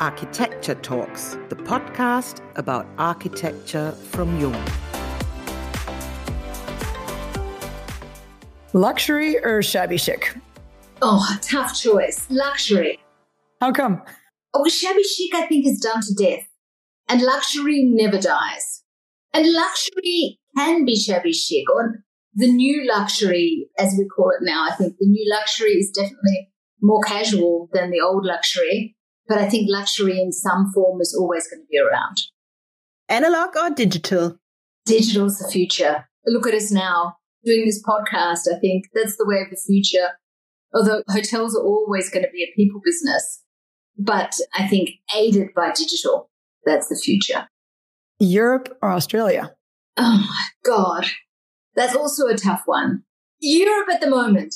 Architecture Talks, the podcast about architecture from Jung. Luxury or shabby chic? Oh, tough choice. Luxury. How come? Oh, shabby chic, I think, is done to death. And luxury never dies. And luxury can be shabby chic, or the new luxury, as we call it now. I think the new luxury is definitely more casual than the old luxury. But I think luxury in some form is always going to be around. Analog or digital? Digital's the future. Look at us now doing this podcast. I think that's the way of the future. Although hotels are always going to be a people business. But I think aided by digital, that's the future. Europe or Australia? Oh, my God. That's also a tough one. Europe at the moment.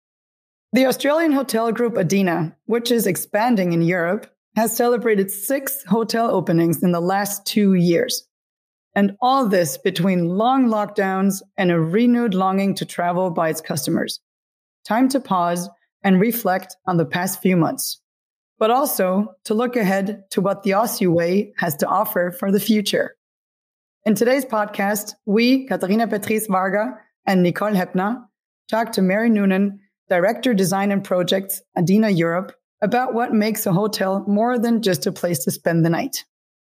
The Australian hotel group Adina, which is expanding in Europe, has celebrated 6 hotel openings in the last 2 years. And all this between long lockdowns and a renewed longing to travel by its customers. Time to pause and reflect on the past few months, but also to look ahead to what the Aussie way has to offer for the future. In today's podcast, we, Katharina Patrice Varga and Nicole Heppner, talk to Mary Noonan, Director Design and Projects, Adina Europe, about what makes a hotel more than just a place to spend the night.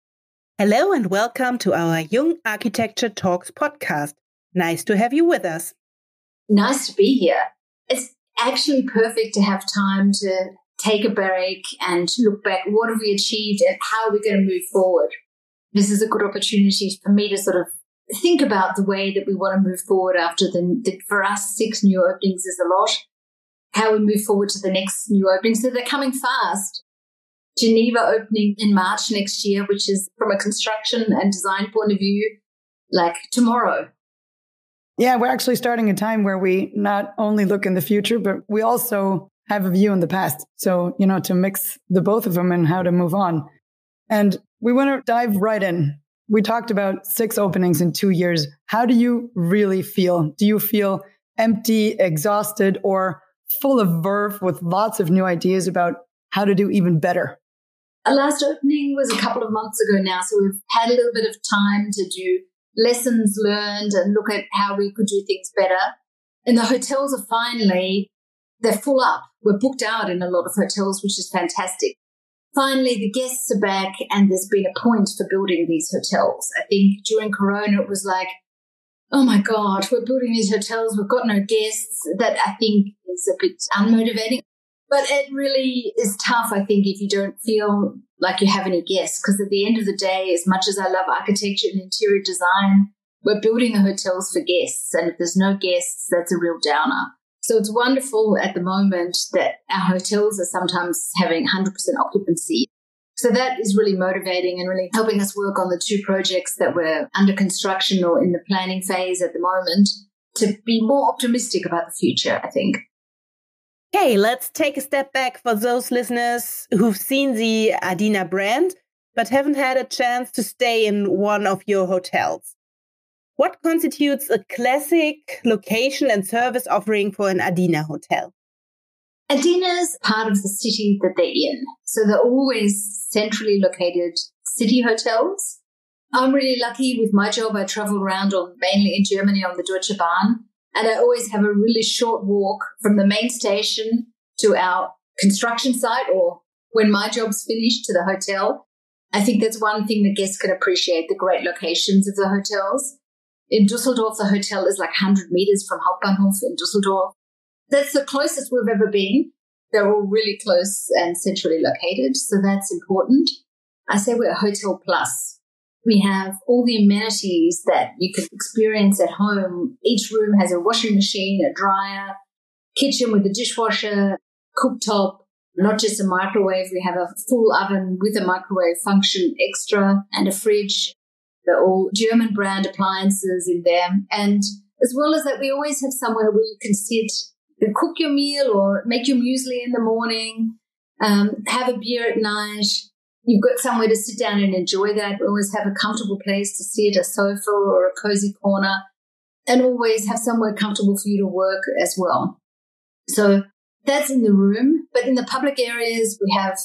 Hello and welcome to our Jung Architecture Talks podcast. Nice to have you with us. Nice to be here. It's actually perfect to have time to take a break and look back. What have we achieved and how are we going to move forward? This is a good opportunity for me to sort of think about the way that we want to move forward after for us, 6 new openings is a lot. How we move forward to the next new openings. So they're coming fast. Geneva opening in March next year, which is from a construction and design point of view, like tomorrow. Yeah, we're actually starting a time where we not only look in the future, but we also have a view in the past. So, to mix the both of them and how to move on. And we want to dive right in. We talked about 6 openings in 2 years. How do you really feel? Do you feel empty, exhausted, or full of verve with lots of new ideas about how to do even better? Our last opening was a couple of months ago now, so we've had a little bit of time to do lessons learned and look at how we could do things better. And the hotels are they're full up. We're booked out in a lot of hotels, which is fantastic. Finally, the guests are back and there's been a point for building these hotels. I think during Corona, it was like, oh my God, we're building these hotels. We've got no guests. That I think is a bit unmotivating. But it really is tough, I think, if you don't feel like you have any guests. Because at the end of the day, as much as I love architecture and interior design, we're building the hotels for guests. And if there's no guests, that's a real downer. So it's wonderful at the moment that our hotels are sometimes having 100% occupancy. So that is really motivating and really helping us work on the 2 projects that we're under construction or in the planning phase at the moment to be more optimistic about the future, I think. Okay, let's take a step back for those listeners who've seen the Adina brand but haven't had a chance to stay in one of your hotels. What constitutes a classic location and service offering for an Adina hotel? Adina's part of the city that they're in. So they're always centrally located city hotels. I'm really lucky with my job. I travel around mainly in Germany on the Deutsche Bahn. And I always have a really short walk from the main station to our construction site or when my job's finished to the hotel. I think that's one thing that guests can appreciate, the great locations of the hotels. In Dusseldorf, the hotel is like 100 meters from Hauptbahnhof in Dusseldorf. That's the closest we've ever been. They're all really close and centrally located, so that's important. I say we're a Hotel Plus. We have all the amenities that you can experience at home. Each room has a washing machine, a dryer, kitchen with a dishwasher, cooktop, not just a microwave. We have a full oven with a microwave function extra and a fridge. They're all German brand appliances in there. And as well as that, we always have somewhere where you can sit and cook your meal or make your muesli in the morning, have a beer at night. You've got somewhere to sit down and enjoy that. We always have a comfortable place to sit, a sofa or a cozy corner, and always have somewhere comfortable for you to work as well. So that's in the room. But in the public areas, we have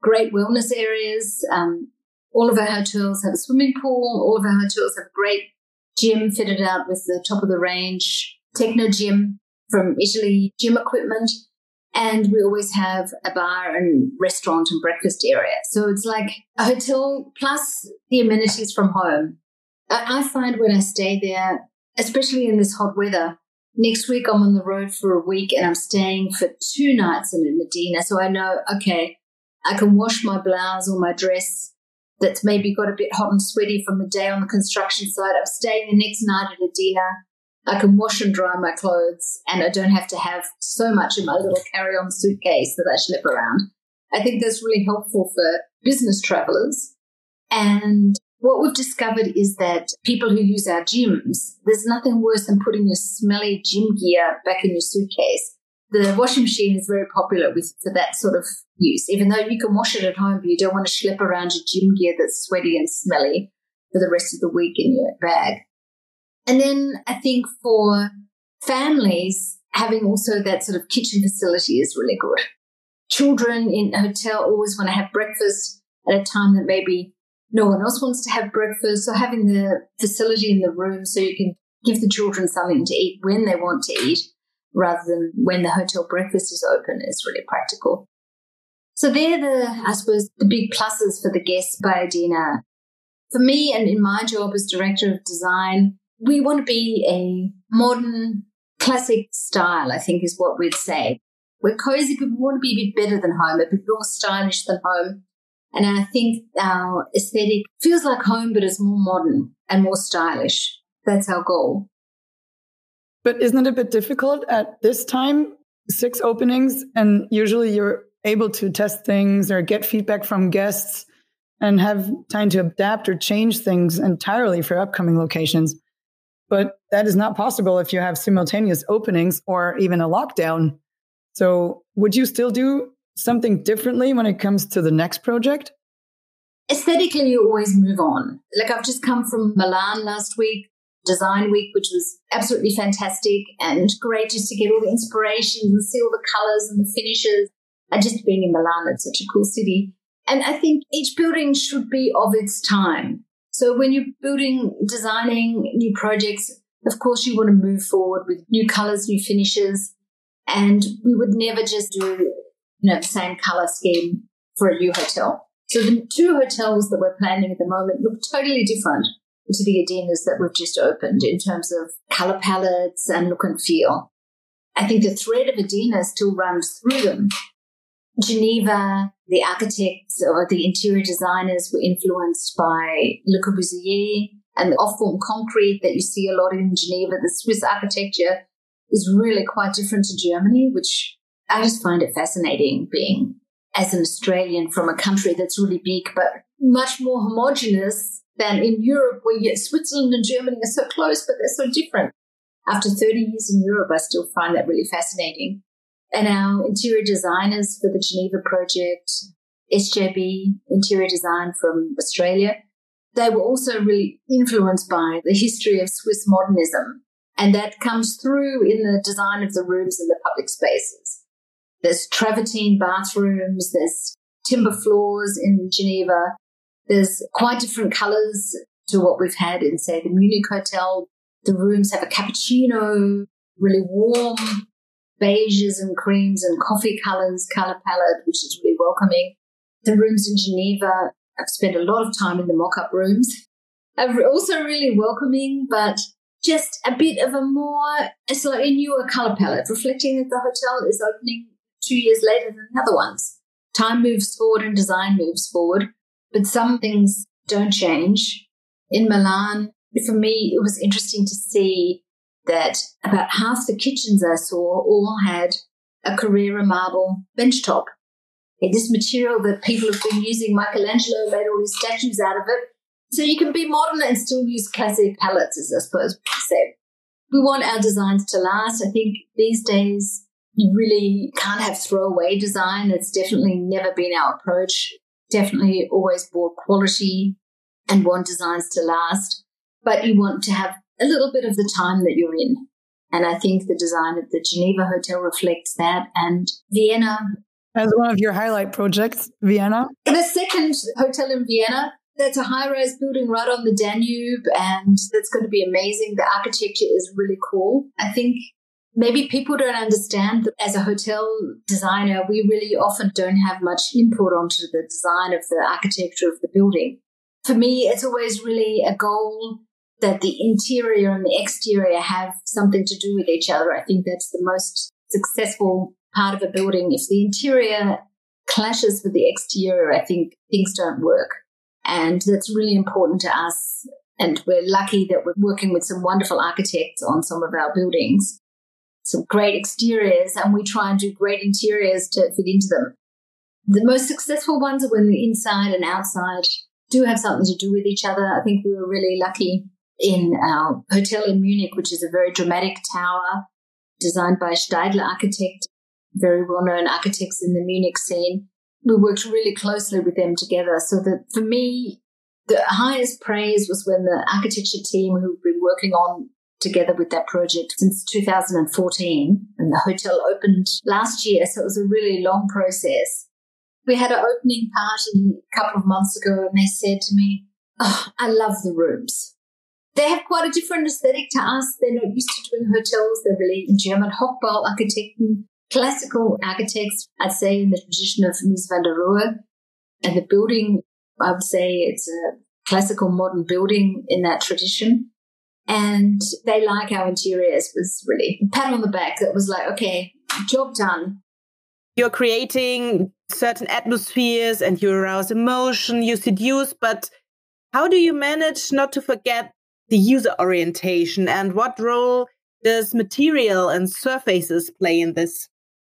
great wellness areas. All of our hotels have a swimming pool. All of our hotels have a great gym fitted out with the top of the range techno gym from Italy, gym equipment. And we always have a bar and restaurant and breakfast area. So it's like a hotel plus the amenities from home. I find when I stay there, especially in this hot weather, next week I'm on the road for a week and I'm staying for 2 nights in Adina. So I know, okay, I can wash my blouse or my dress that's maybe got a bit hot and sweaty from the day on the construction site. I'm staying the next night at Adina. I can wash and dry my clothes and I don't have to have so much in my little carry-on suitcase that I schlep around. I think that's really helpful for business travelers. And what we've discovered is that people who use our gyms, there's nothing worse than putting your smelly gym gear back in your suitcase. The washing machine is very popular for that sort of use, even though you can wash it at home, but you don't want to schlep around your gym gear that's sweaty and smelly for the rest of the week in your bag. And then I think for families, having also that sort of kitchen facility is really good. Children in a hotel always want to have breakfast at a time that maybe no one else wants to have breakfast. So having the facility in the room so you can give the children something to eat when they want to eat rather than when the hotel breakfast is open is really practical. So they're I suppose, the big pluses for the guests by Adina. For me and in my job as director of design, we want to be a modern, classic style, I think is what we'd say. We're cozy, but we want to be a bit better than home, a bit more stylish than home. And I think our aesthetic feels like home, but it's more modern and more stylish. That's our goal. But isn't it a bit difficult at this time? 6 openings, and usually you're able to test things or get feedback from guests and have time to adapt or change things entirely for upcoming locations. But that is not possible if you have simultaneous openings or even a lockdown. So would you still do something differently when it comes to the next project? Aesthetically, you always move on. Like I've just come from Milan last week, Design Week, which was absolutely fantastic and great just to get all the inspirations and see all the colors and the finishes. And just being in Milan, it's such a cool city. And I think each building should be of its time. So when you're designing new projects, of course you want to move forward with new colors, new finishes. And we would never just do, the same color scheme for a new hotel. So the 2 hotels that we're planning at the moment look totally different to the Adinas that we've just opened in terms of color palettes and look and feel. I think the thread of Adina still runs through them. Geneva, the architects or the interior designers were influenced by Le Corbusier and the off-form concrete that you see a lot in Geneva. The Swiss architecture is really quite different to Germany, which I just find it fascinating being as an Australian from a country that's really big but much more homogenous than in Europe where Switzerland and Germany are so close but they're so different. After 30 years in Europe, I still find that really fascinating. And our interior designers for the Geneva project, SJB Interior Design from Australia, they were also really influenced by the history of Swiss modernism. And that comes through in the design of the rooms and the public spaces. There's travertine bathrooms, there's timber floors in Geneva. There's quite different colors to what we've had in, say, the Munich Hotel. The rooms have a cappuccino, really warm, beiges and creams and coffee color palette, which is really welcoming. The rooms in Geneva, I've spent a lot of time in the mock-up rooms, are also really welcoming, but just a bit of a slightly newer color palette, reflecting that the hotel is opening 2 years later than the other ones. Time moves forward and design moves forward, but some things don't change. In Milan, for me, it was interesting to see that about half the kitchens I saw all had a Carrara marble benchtop. This material that people have been using, Michelangelo made all his statues out of it. So you can be modern and still use classic palettes, as I suppose we say. We want our designs to last. I think these days you really can't have throwaway design. It's definitely never been our approach. Definitely always bought quality and want designs to last. But you want to have a little bit of the time that you're in. And I think the design of the Geneva Hotel reflects that. And Vienna, As one of your highlight projects, Vienna? The second hotel in Vienna, that's a high-rise building right on the Danube, and that's going to be amazing. The architecture is really cool. I think maybe people don't understand that as a hotel designer, we really often don't have much input onto the design of the architecture of the building. For me, it's always really a goal that the interior and the exterior have something to do with each other. I think that's the most successful part of a building. If the interior clashes with the exterior, I think things don't work. And that's really important to us. And we're lucky that we're working with some wonderful architects on some of our buildings, some great exteriors, and we try and do great interiors to fit into them. The most successful ones are when the inside and outside do have something to do with each other. I think we were really lucky in our hotel in Munich, which is a very dramatic tower designed by Steidler Architect, very well-known architects in the Munich scene. We worked really closely with them together. So that for me, the highest praise was when the architecture team who've been working on together with that project since 2014, and the hotel opened last year, so it was a really long process. We had an opening party a couple of months ago, and they said to me, "Oh, I love the rooms. They have quite a different aesthetic to us. They're not used to doing hotels. They're really German Hochbau-Architekten, classical architects, I'd say, in the tradition of Mies van der Rohe. And the building, I would say it's a classical modern building in that tradition. And they like our interiors." Was really a pat on the back. That was like, okay, job done. You're creating certain atmospheres and you arouse emotion, you seduce, but how do you manage not to forget the user orientation, and what role does material and surfaces play in this?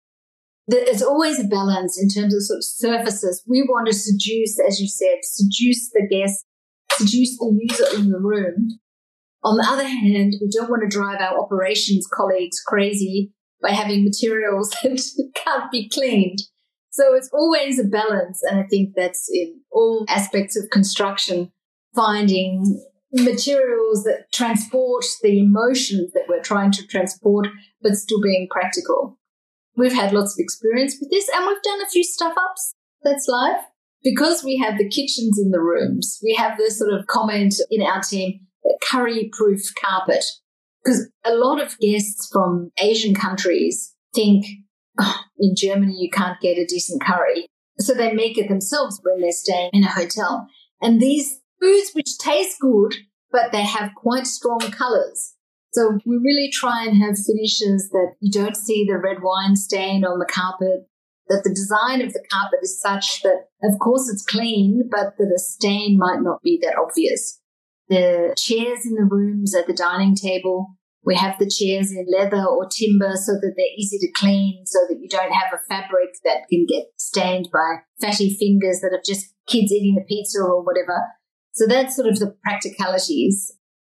There's always a balance in terms of sort of surfaces. We want to seduce, as you said, seduce the guest, seduce the user in the room. On the other hand, we don't want to drive our operations colleagues crazy by having materials that can't be cleaned. So it's always a balance. And I think that's in all aspects of construction, finding materials that transport the emotions that we're trying to transport, but still being practical. We've had lots of experience with this, and we've done a few stuff-ups. That's life. Because we have the kitchens in the rooms, we have this sort of comment in our team, curry-proof carpet. Because a lot of guests from Asian countries think, oh, in Germany you can't get a decent curry. So they make it themselves when they're staying in a hotel. And these foods which taste good, but they have quite strong colours. So we really try and have finishes that you don't see the red wine stain on the carpet, that the design of the carpet is such that, of course, it's clean, but that a stain might not be that obvious. The chairs in the rooms at the dining table, we have the chairs in leather or timber so that they're easy to clean, so that you don't have a fabric that can get stained by fatty fingers that are just kids eating the pizza or whatever. So that's sort of the practicalities.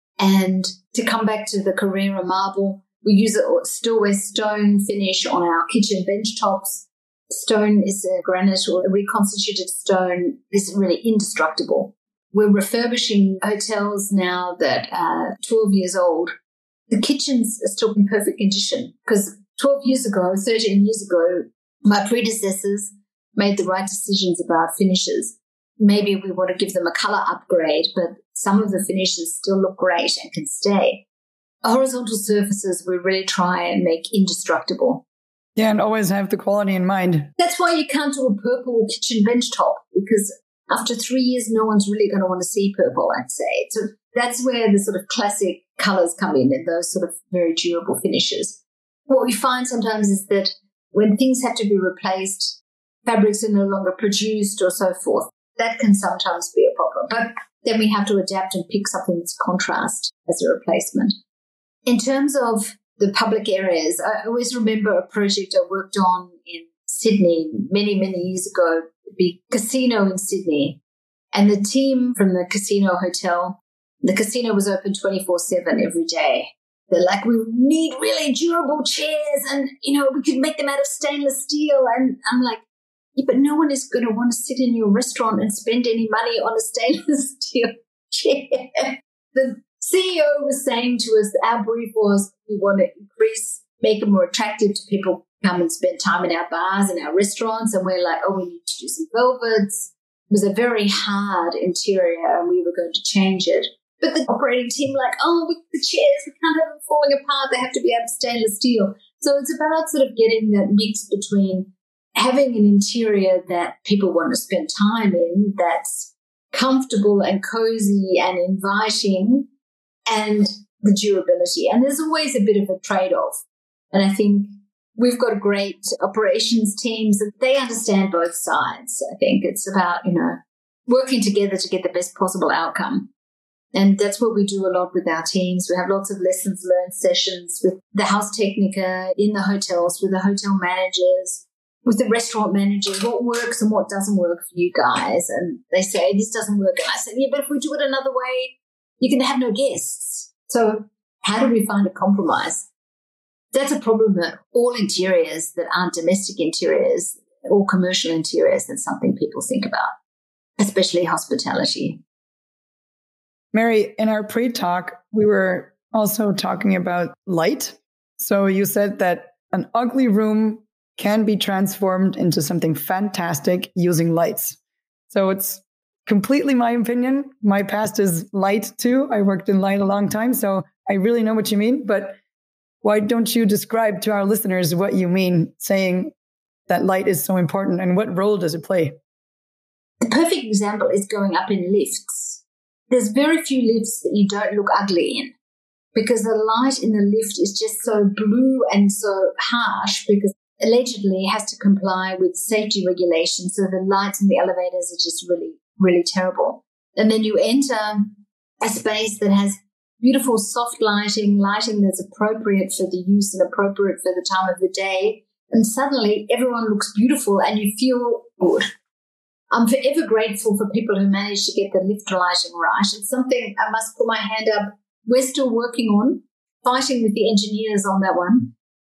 And to come back to the Carrera marble, we use a Stillwest stone finish on our kitchen bench tops. Stone is a granite or a reconstituted stone, is really indestructible. We're refurbishing hotels now that are 12 years old. The kitchens are still in perfect condition because 12 years ago, 13 years ago, my predecessors made the right decisions about finishes. Maybe we want to give them a colour upgrade, but some of the finishes still look great and can stay. Horizontal surfaces we really try and make indestructible. Yeah, and always have the quality in mind. That's why you can't do a purple kitchen bench top, because after 3 years, no one's really going to want to see purple, I'd say. So that's where the sort of classic colours come in and those sort of very durable finishes. What we find sometimes is that when things have to be replaced, fabrics are no longer produced or so forth. That can sometimes be a problem. But then we have to adapt and pick something that's contrast as a replacement. In terms of the public areas, I always remember a project I worked on in Sydney many, many years ago, the big casino in Sydney. And the team from the casino hotel, the casino was open 24/7 every day. They're like, we need really durable chairs and, we could make them out of stainless steel. And I'm like, yeah, but no one is going to want to sit in your restaurant and spend any money on a stainless steel chair. The CEO was saying to us, our brief was, we want to make it more attractive to people come and spend time in our bars and our restaurants, and we're like, oh, we need to do some velvets. It was a very hard interior and we were going to change it. But the operating team like, oh, the chairs, we can't have them falling apart. They have to be out of stainless steel. So it's about sort of getting that mix between having an interior that people want to spend time in, that's comfortable and cozy and inviting, and the durability. And there's always a bit of a trade-off. And I think we've got great operations teams and they understand both sides. I think it's about, working together to get the best possible outcome. And that's what we do a lot with our teams. We have lots of lessons learned sessions with the house technica in the hotels, with the hotel managers, with the restaurant managers, what works and what doesn't work for you guys. And they say, this doesn't work. And I say, yeah, but if we do it another way, you can have no guests. So how do we find a compromise? That's a problem that all interiors that aren't domestic interiors or commercial interiors, that's something people think about, especially hospitality. Mary, in our pre-talk, we were also talking about light. So you said that an ugly room can be transformed into something fantastic using lights. So it's completely my opinion. My past is light too. I worked in light a long time, so I really know what you mean. But why don't you describe to our listeners what you mean saying that light is so important and what role does it play? The perfect example is going up in lifts. There's very few lifts that you don't look ugly in because the light in the lift is just so blue and so harsh because allegedly it has to comply with safety regulations. So the lights in the elevators are just really, really terrible. And then you enter a space that has beautiful soft lighting that's appropriate for the use and appropriate for the time of the day. And suddenly everyone looks beautiful and you feel good. I'm forever grateful for people who manage to get the lift lighting right. It's something I must put my hand up. We're still working on, fighting with the engineers on that one.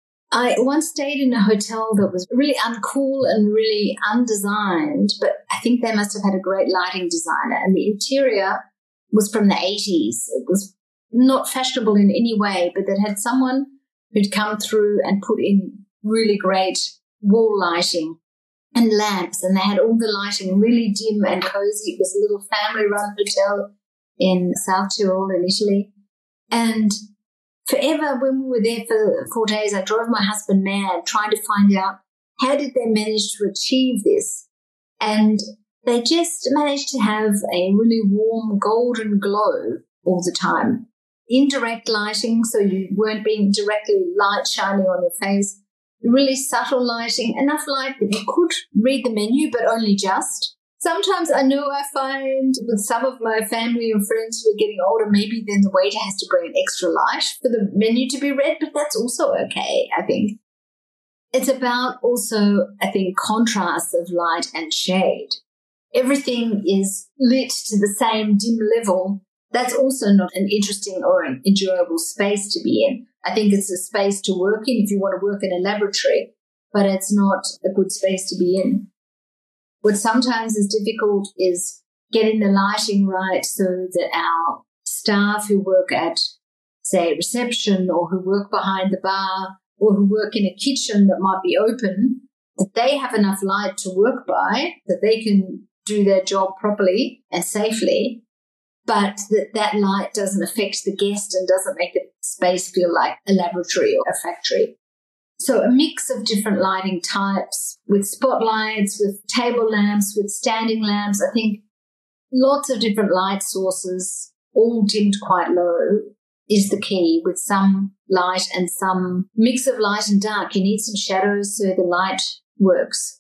I once stayed in a hotel that was really uncool and really undesigned, but I think they must have had a great lighting designer. And the interior was from the 80s. It was not fashionable in any way, but that had someone who'd come through and put in really great wall lighting and lamps, and they had all the lighting really dim and cozy. It was a little family-run hotel in South Tyrol in Italy. And forever, when we were there for 4 days, I drove my husband mad trying to find out how did they manage to achieve this. And they just managed to have a really warm golden glow all the time. Indirect lighting, so you weren't being directly light shining on your face. Really subtle lighting, enough light that you could read the menu, but only just. Sometimes I find with some of my family and friends who are getting older, maybe then the waiter has to bring an extra light for the menu to be read, but that's also okay, I think. It's about also, I think, contrast of light and shade. Everything is lit to the same dim level. That's also not an interesting or an enjoyable space to be in. I think it's a space to work in if you want to work in a laboratory, but it's not a good space to be in. What sometimes is difficult is getting the lighting right so that our staff who work at, say, reception or who work behind the bar or who work in a kitchen that might be open, that they have enough light to work by, that they can do their job properly and safely, but that light doesn't affect the guest and doesn't make the space feel like a laboratory or a factory. So a mix of different lighting types with spotlights, with table lamps, with standing lamps. I think lots of different light sources, all dimmed quite low, is the key, with some light and some mix of light and dark. You need some shadows so the light works.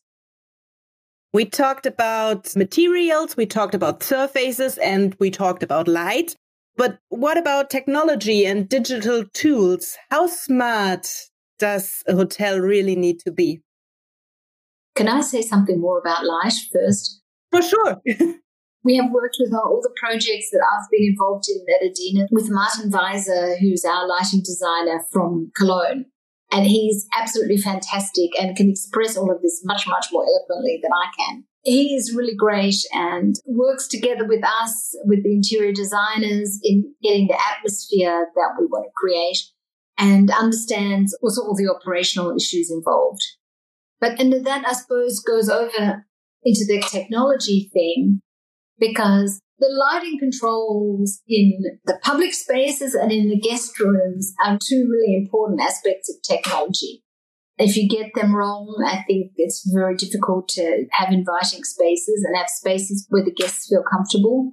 We talked about materials, we talked about surfaces, and we talked about light. But what about technology and digital tools? How smart does a hotel really need to be? Can I say something more about light first? For sure. We have worked with all the projects that I've been involved in at Adina with Martin Weiser, who's our lighting designer from Cologne. And he's absolutely fantastic and can express all of this much, much more eloquently than I can. He is really great and works together with us, with the interior designers, in getting the atmosphere that we want to create. and understands also all the operational issues involved. And that, I suppose, goes over into the technology theme, because the lighting controls in the public spaces and in the guest rooms are two really important aspects of technology. If you get them wrong, I think it's very difficult to have inviting spaces and have spaces where the guests feel comfortable.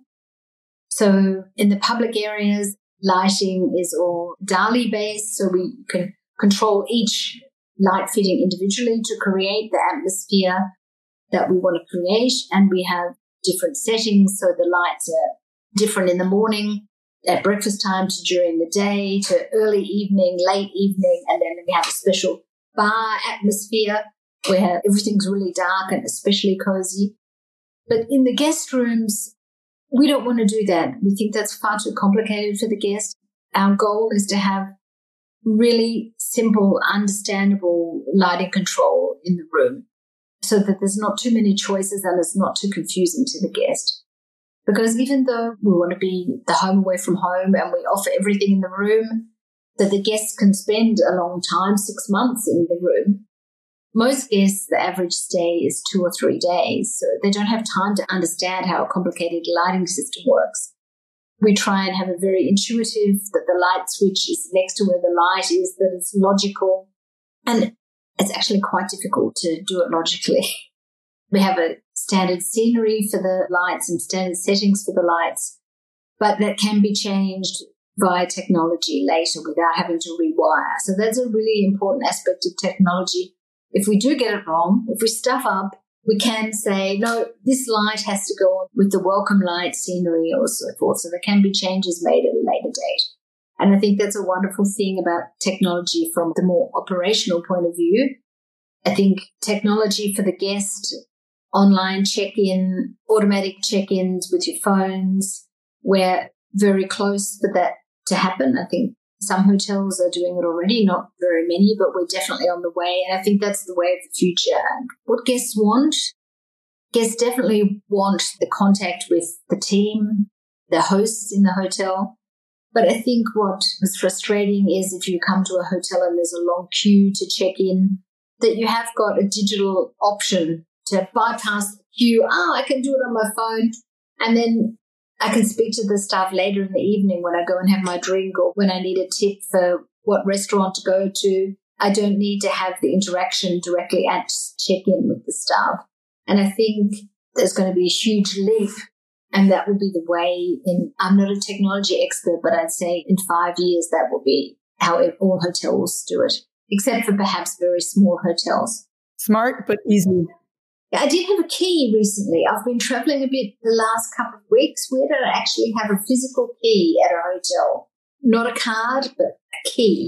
So in the public areas, lighting is all DALI based, so we can control each light fitting individually to create the atmosphere that we want to create. And we have different settings, so the lights are different in the morning, at breakfast time, to during the day, to early evening, late evening, and then we have a special bar atmosphere where everything's really dark and especially cozy. But in the guest rooms, we don't want to do that. We think that's far too complicated for the guest. Our goal is to have really simple, understandable lighting control in the room so that there's not too many choices and it's not too confusing to the guest. Because even though we want to be the home away from home and we offer everything in the room that the guests can spend a long time, 6 months in the room, most guests, the average stay is 2 or 3 days, so they don't have time to understand how a complicated lighting system works. We try and have a very intuitive, that the light switch is next to where the light is, that it's logical. And it's actually quite difficult to do it logically. We have a standard scenery for the lights and standard settings for the lights, but that can be changed via technology later without having to rewire. So that's a really important aspect of technology. If we do get it wrong, if we stuff up, we can say, no, this light has to go on with the welcome light scenery or so forth. So there can be changes made at a later date. And I think that's a wonderful thing about technology from the more operational point of view. I think technology for the guest, online check-in, automatic check-ins with your phones, we're very close for that to happen. I think some hotels are doing it already, not very many, but we're definitely on the way. And I think that's the way of the future. And what guests want? Guests definitely want the contact with the team, the hosts in the hotel. But I think what was frustrating is if you come to a hotel and there's a long queue to check in, that you have got a digital option to bypass the queue. I can do it on my phone. And then I can speak to the staff later in the evening when I go and have my drink or when I need a tip for what restaurant to go to. I don't need to have the interaction directly at check-in with the staff. And I think there's going to be a huge leap, and that will be the way I'm not a technology expert, but I'd say in 5 years that will be how all hotels do it, except for perhaps very small hotels. Smart, but easy. I did have a key recently. I've been traveling a bit the last couple of weeks. Where did I actually have a physical key at a hotel? Not a card, but a key.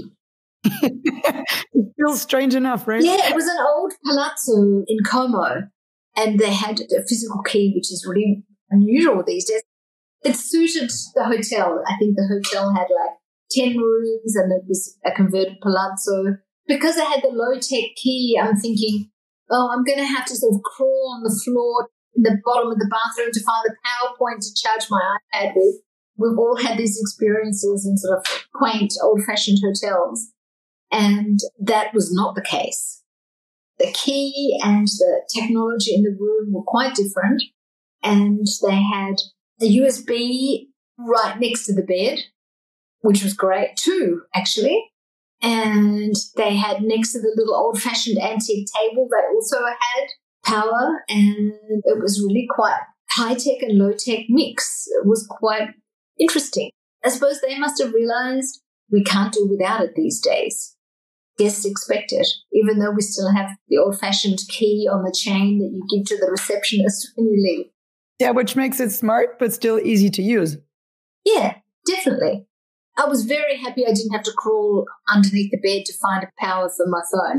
It feels strange enough, right? Yeah, it was an old palazzo in Como, and they had a physical key, which is really unusual these days. It suited the hotel. I think the hotel had like 10 rooms and it was a converted palazzo. Because I had the low-tech key, I'm thinking, I'm going to have to sort of crawl on the floor in the bottom of the bathroom to find the power point to charge my iPad with. We've all had these experiences in sort of quaint, old-fashioned hotels, and that was not the case. The key and the technology in the room were quite different, and they had a USB right next to the bed, which was great too, actually. And they had next to the little old-fashioned antique table, they also had power, and it was really quite high-tech and low-tech mix. It was quite interesting. I suppose they must have realized we can't do without it these days. Guests expect it, even though we still have the old-fashioned key on the chain that you give to the receptionist when you leave. Yeah, which makes it smart, but still easy to use. Yeah, definitely. I was very happy I didn't have to crawl underneath the bed to find a power for my phone.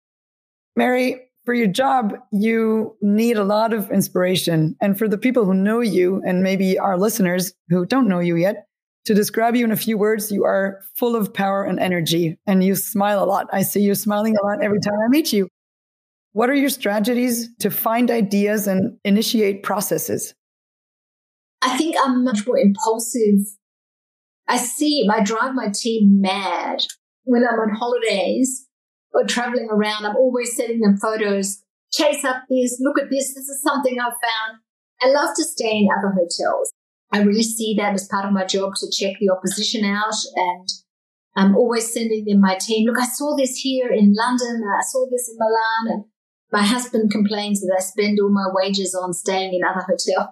Mary, for your job, you need a lot of inspiration. And for the people who know you, and maybe our listeners who don't know you yet, to describe you in a few words, you are full of power and energy, and you smile a lot. I see you smiling a lot every time I meet you. What are your strategies to find ideas and initiate processes? I think I'm much more impulsive. I drive my team mad when I'm on holidays or traveling around, I'm always sending them photos. Chase up this, look at this. This is something I've found. I love to stay in other hotels. I really see that as part of my job to check the opposition out, and I'm always sending them my team. Look, I saw this here in London. I saw this in Milan. And my husband complains that I spend all my wages on staying in other hotels.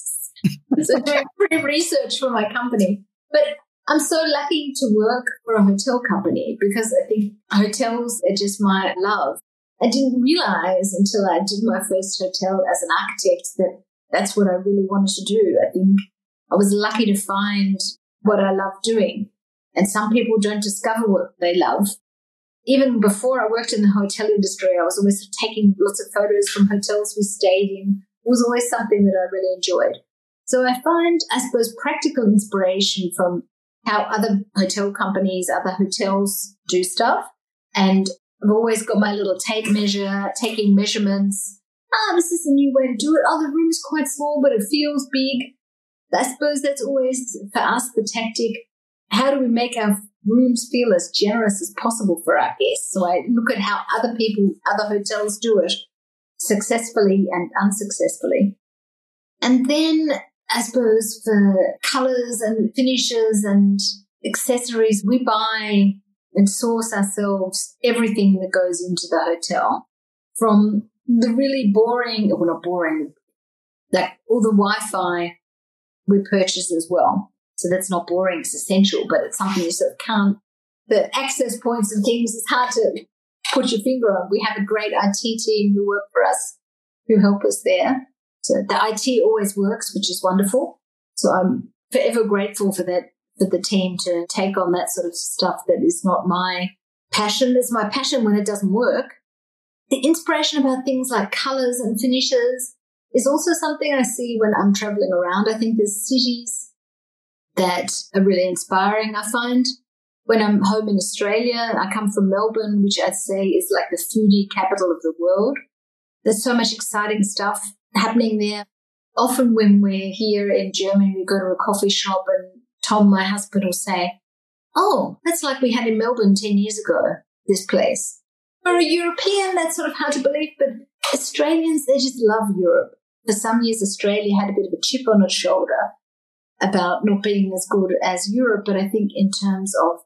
So doing free research for my company. But I'm so lucky to work for a hotel company because I think hotels are just my love. I didn't realize until I did my first hotel as an architect that that's what I really wanted to do. I think I was lucky to find what I love doing. And some people don't discover what they love. Even before I worked in the hotel industry, I was always taking lots of photos from hotels we stayed in. It was always something that I really enjoyed. So I find, I suppose, practical inspiration from how other hotel companies, other hotels do stuff. And I've always got my little tape measure, taking measurements. This is a new way to do it. The room is quite small, but it feels big. I suppose that's always, for us, the tactic. How do we make our rooms feel as generous as possible for our guests? So I look at how other people, other hotels do it successfully and unsuccessfully. And then I suppose for colours and finishes and accessories, we buy and source ourselves everything that goes into the hotel, from the really boring, well, not boring, like all the Wi-Fi we purchase as well. So that's not boring, it's essential, but it's something you sort of can't, the access points and things, it's hard to put your finger on. We have a great IT team who work for us, who help us there. So the IT always works, which is wonderful. So I'm forever grateful for that, for the team to take on that sort of stuff that is not my passion. It's my passion when it doesn't work. The inspiration about things like colours and finishes is also something I see when I'm travelling around. I think there's cities that are really inspiring. I find when I'm home in Australia, I come from Melbourne, which I'd say is like the foodie capital of the world. There's so much exciting stuff happening there. Often when we're here in Germany, we go to a coffee shop and Tom, my husband, will say, "Oh, that's like we had in Melbourne 10 years ago, this place." For a European, that's sort of hard to believe, but Australians, they just love Europe. For some years, Australia had a bit of a chip on its shoulder about not being as good as Europe, but I think in terms of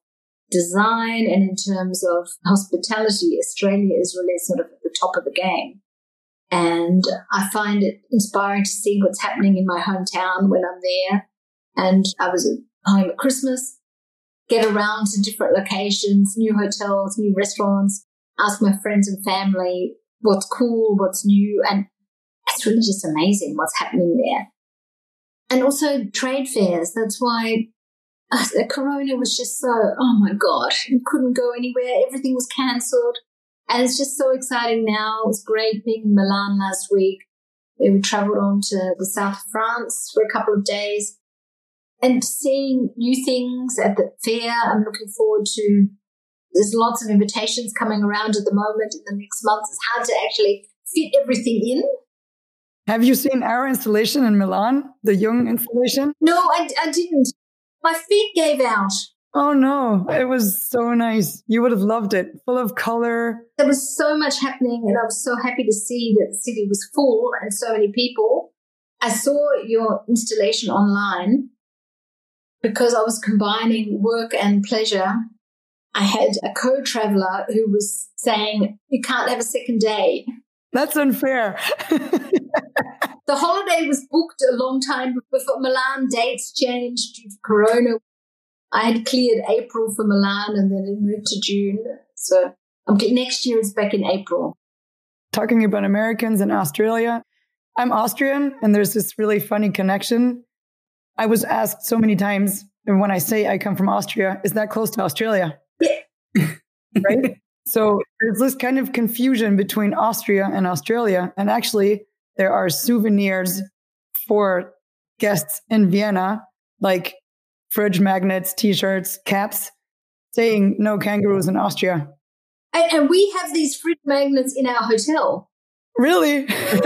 design and in terms of hospitality, Australia is really sort of at the top of the game. And I find it inspiring to see what's happening in my hometown when I'm there. And I was home at Christmas, get around to different locations, new hotels, new restaurants, ask my friends and family what's cool, what's new. And it's really just amazing what's happening there. And also trade fairs. That's why Corona was just so, oh my God, you couldn't go anywhere. Everything was cancelled. And it's just so exciting now. It was great being in Milan last week. We travelled on to the south of France for a couple of days and seeing new things at the fair. I'm looking forward to, there's lots of invitations coming around at the moment in the next month. It's hard to actually fit everything in. Have you seen our installation in Milan, the Jung installation? No, I didn't. My feet gave out. Oh, no. It was so nice. You would have loved it. Full of color. There was so much happening, and I was so happy to see that the city was full and so many people. I saw your installation online because I was combining work and pleasure. I had a co-traveler who was saying, you can't have a second day. That's unfair. The holiday was booked a long time before. Milan dates changed due to Corona. I had cleared April for Milan and then it moved to June. So next year it's back in April. Talking about Americans in Australia, I'm Austrian and there's this really funny connection. I was asked so many times, and when I say I come from Austria, is that close to Australia? Yeah. Right? So there's this kind of confusion between Austria and Australia. And actually, there are souvenirs for guests in Vienna, like fridge magnets, T-shirts, caps, saying no kangaroos in Austria. And we have these fridge magnets in our hotel. Really?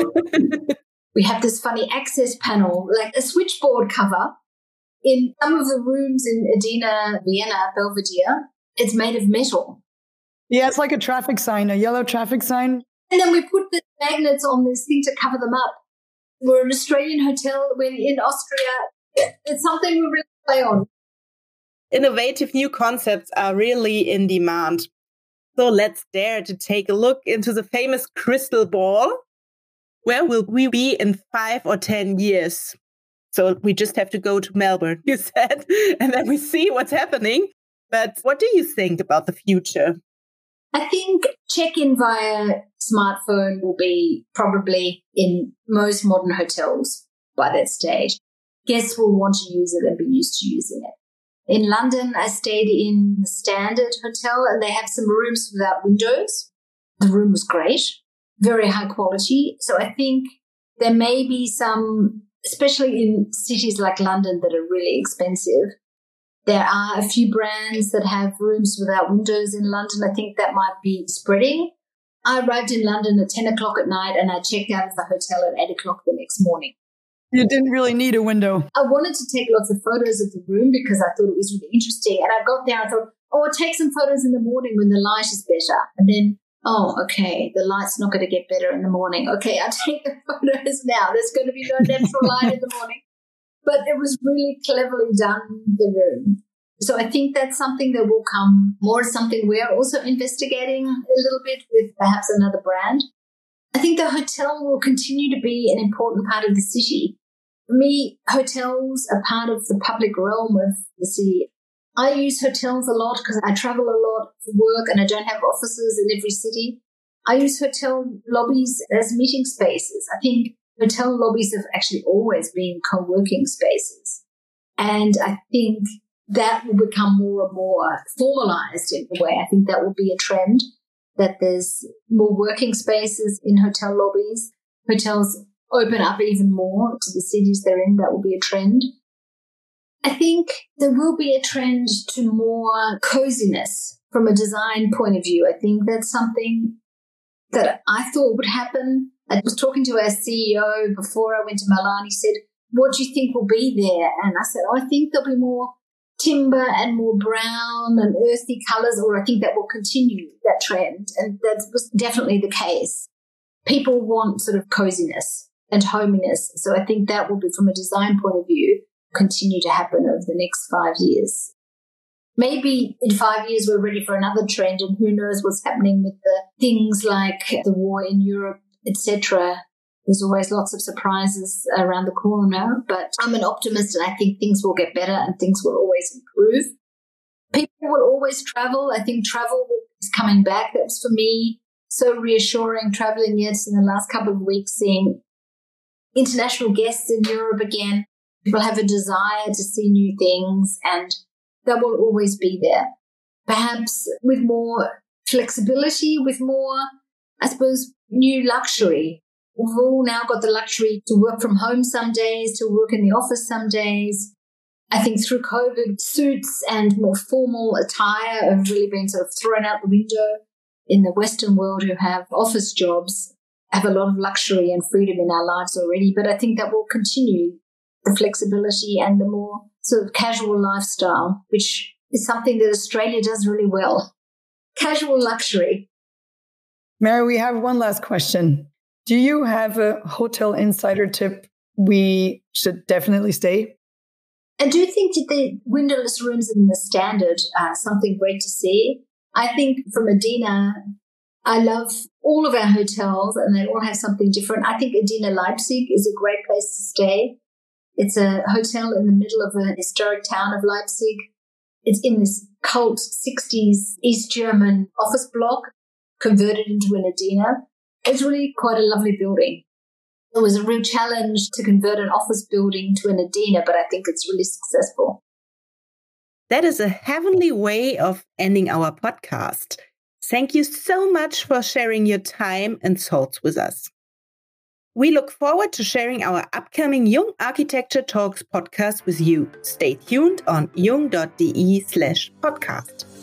We have this funny access panel, like a switchboard cover. In some of the rooms in Adina, Vienna, Belvedere, it's made of metal. Yeah, it's like a traffic sign, a yellow traffic sign. And then we put the magnets on this thing to cover them up. We're an Australian hotel. We're in Austria. It's something we really play on. Innovative new concepts are really in demand. So let's dare to take a look into the famous crystal ball. Where will we be in 5 or 10 years? So we just have to go to Melbourne, you said, and then we see what's happening. But what do you think about the future? I think check-in via smartphone will be probably in most modern hotels by that stage. Guests will want to use it and be used to using it. In London, I stayed in the Standard Hotel and they have some rooms without windows. The room was great, very high quality. So I think there may be some, especially in cities like London that are really expensive. There are a few brands that have rooms without windows in London. I think that might be spreading. I arrived in London at 10 o'clock at night and I checked out of the hotel at 8 o'clock the next morning. You didn't really need a window. I wanted to take lots of photos of the room because I thought it was really interesting. And I got there and I thought, I'll take some photos in the morning when the light is better. And then, okay, the light's not going to get better in the morning. Okay, I'll take the photos now. There's going to be no natural light in the morning. But it was really cleverly done, the room. So I think that's something that will come more, something we're also investigating a little bit with perhaps another brand. I think the hotel will continue to be an important part of the city. For me, hotels are part of the public realm of the city. I use hotels a lot because I travel a lot for work and I don't have offices in every city. I use hotel lobbies as meeting spaces. I think hotel lobbies have actually always been co-working spaces. And I think that will become more and more formalized in a way. I think that will be a trend, that there's more working spaces in hotel lobbies. Hotels open up even more to the cities they're in. That will be a trend. I think there will be a trend to more coziness from a design point of view. I think that's something that I thought would happen. I was talking to our CEO before I went to Milan. He said, what do you think will be there? And I said, I think there'll be more timber and more brown and earthy colours, or I think that will continue that trend. And that was definitely the case. People want sort of coziness and hominess. So I think that will be, from a design point of view, continue to happen over the next 5 years. Maybe in 5 years we're ready for another trend, and who knows what's happening with the things like the war in Europe, etc. There's always lots of surprises around the corner, but I'm an optimist and I think things will get better and things will always improve. People will always travel. I think travel is coming back. That's for me so reassuring, traveling, yes, in the last couple of weeks, seeing international guests in Europe again. People have a desire to see new things, and that will always be there. Perhaps with more flexibility, with more, I suppose, new luxury. We've all now got the luxury to work from home some days, to work in the office some days. I think through COVID, suits and more formal attire have really been sort of thrown out the window. In the Western world, who have office jobs, have a lot of luxury and freedom in our lives already. But I think that will continue, the flexibility and the more sort of casual lifestyle, which is something that Australia does really well. Casual luxury. Mary, we have one last question. Do you have a hotel insider tip we should definitely stay? I do think that the windowless rooms in the Standard are something great to see. I think from Adina, I love all of our hotels and they all have something different. I think Adina Leipzig is a great place to stay. It's a hotel in the middle of a historic town of Leipzig. It's in this cult 60s East German office block converted into an Adina. It's really quite a lovely building. It was a real challenge to convert an office building to an Adina, but I think it's really successful. That is a heavenly way of ending our podcast. Thank you so much for sharing your time and thoughts with us. We look forward to sharing our upcoming Jung Architecture Talks podcast with you. Stay tuned on jung.de/podcast.